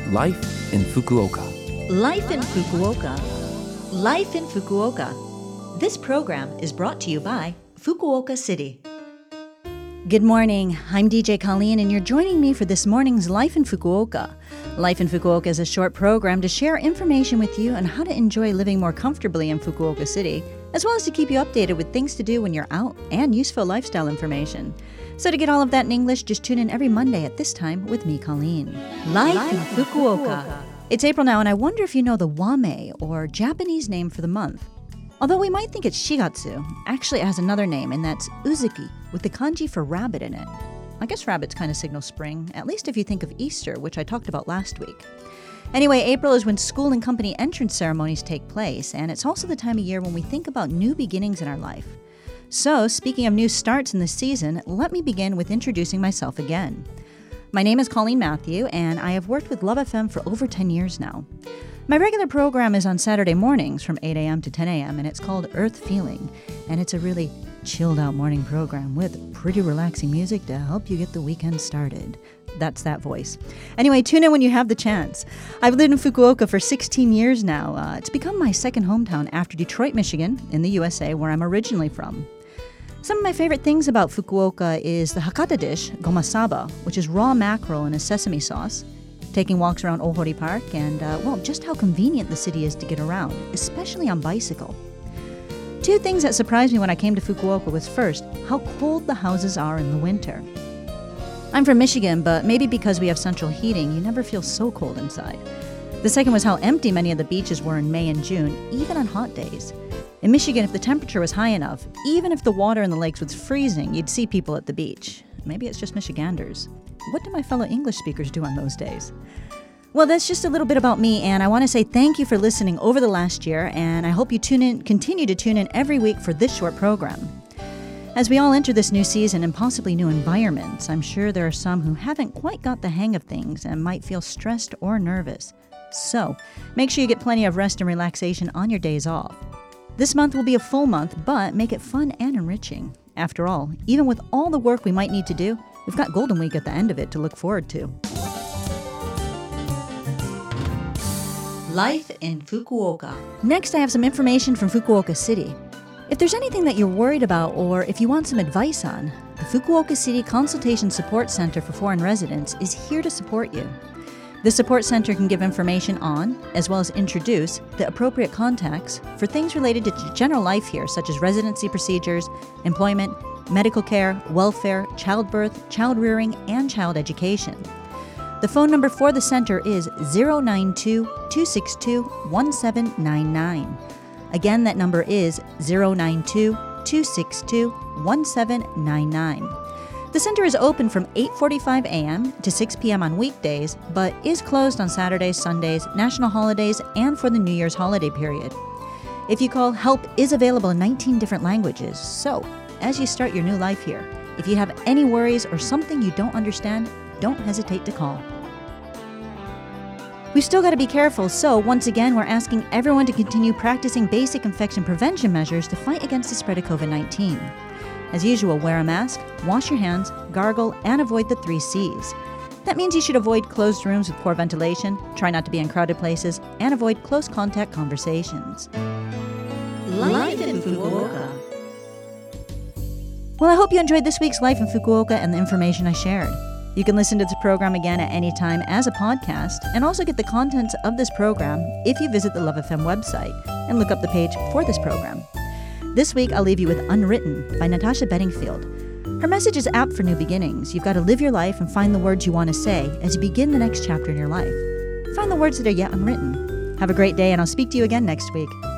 Life in Fukuoka. Life in Fukuoka. Life in Fukuoka. This program is brought to you by Fukuoka City. Good morning. I'm DJ Colleen, and you're joining me for this morning's Life in Fukuoka. Life in Fukuoka is a short program to share information with you on how to enjoy living more comfortably in Fukuoka City, as well as to keep you updated with things to do when you're out and useful lifestyle information. So to get all of that in English, just tune in every Monday at this time with me, Colleen. Life in Fukuoka. It's April now, and I wonder if you know the Wame, or Japanese name for the month. Although we might think it's Shigatsu, actually it has another name, and that's Uzuki, with the kanji for rabbit in it. I guess rabbits kind of signal spring, at least if you think of Easter, which I talked about last week. Anyway, April is when school and company entrance ceremonies take place, and it's also the time of year when we think about new beginnings in our life. So, speaking of new starts in the season, let me begin with introducing myself again. My name is Colleen Matthew, and I have worked with Love FM for over 10 years now. My regular program is on Saturday mornings from 8 a.m. to 10 a.m., and it's called Earth Feeling, and it's a really chilled-out morning program with pretty relaxing music to help you get the weekend started. That's that voice. Anyway, tune in when you have the chance. I've lived in Fukuoka for 16 years now. It's become my second hometown after Detroit, Michigan, in the USA, where I'm originally from. Some of my favorite things about Fukuoka is the Hakata dish, gomasaba, which is raw mackerel in a sesame sauce, taking walks around Ohori Park, and, just how convenient the city is to get around, especially on bicycle. Two things that surprised me when I came to Fukuoka was first, how cold the houses are in the winter. I'm from Michigan, but maybe because we have central heating, you never feel so cold inside. The second was how empty many of the beaches were in May and June, even on hot days. In Michigan, if the temperature was high enough, even if the water in the lakes was freezing, you'd see people at the beach. Maybe it's just Michiganders. What do my fellow English speakers do on those days? Well, that's just a little bit about me, and I want to say thank you for listening over the last year, and I hope you continue to tune in every week for this short program. As we all enter this new season and possibly new environments, I'm sure there are some who haven't quite got the hang of things and might feel stressed or nervous. So, make sure you get plenty of rest and relaxation on your days off. This month will be a full month, but make it fun and enriching. After all, even with all the work we might need to do, we've got Golden Week at the end of it to look forward to. Life in Fukuoka. Next, I have some information from Fukuoka City. If there's anything that you're worried about or if you want some advice on, the Fukuoka City Consultation Support Center for Foreign Residents is here to support you. The support center can give information on, as well as introduce, the appropriate contacts for things related to general life here, such as residency procedures, employment, medical care, welfare, childbirth, child rearing, and child education. The phone number for the center is 092-262-1799. Again, that number is 092-262-1799. The center is open from 8:45 a.m. to 6 p.m. on weekdays, but is closed on Saturdays, Sundays, national holidays, and for the New Year's holiday period. If you call, help is available in 19 different languages. So, as you start your new life here, if you have any worries or something you don't understand, don't hesitate to call. We've still got to be careful, so once again, we're asking everyone to continue practicing basic infection prevention measures to fight against the spread of COVID-19. As usual, wear a mask, wash your hands, gargle, and avoid the 3 C's. That means you should avoid closed rooms with poor ventilation, try not to be in crowded places, and avoid close contact conversations. Life in Fukuoka. Well, I hope you enjoyed this week's Life in Fukuoka and the information I shared. You can listen to this program again at any time as a podcast, and also get the contents of this program if you visit the Love FM website and look up the page for this program. This week, I'll leave you with Unwritten by Natasha Bedingfield. Her message is apt for new beginnings. You've got to live your life and find the words you want to say as you begin the next chapter in your life. Find the words that are yet unwritten. Have a great day, and I'll speak to you again next week.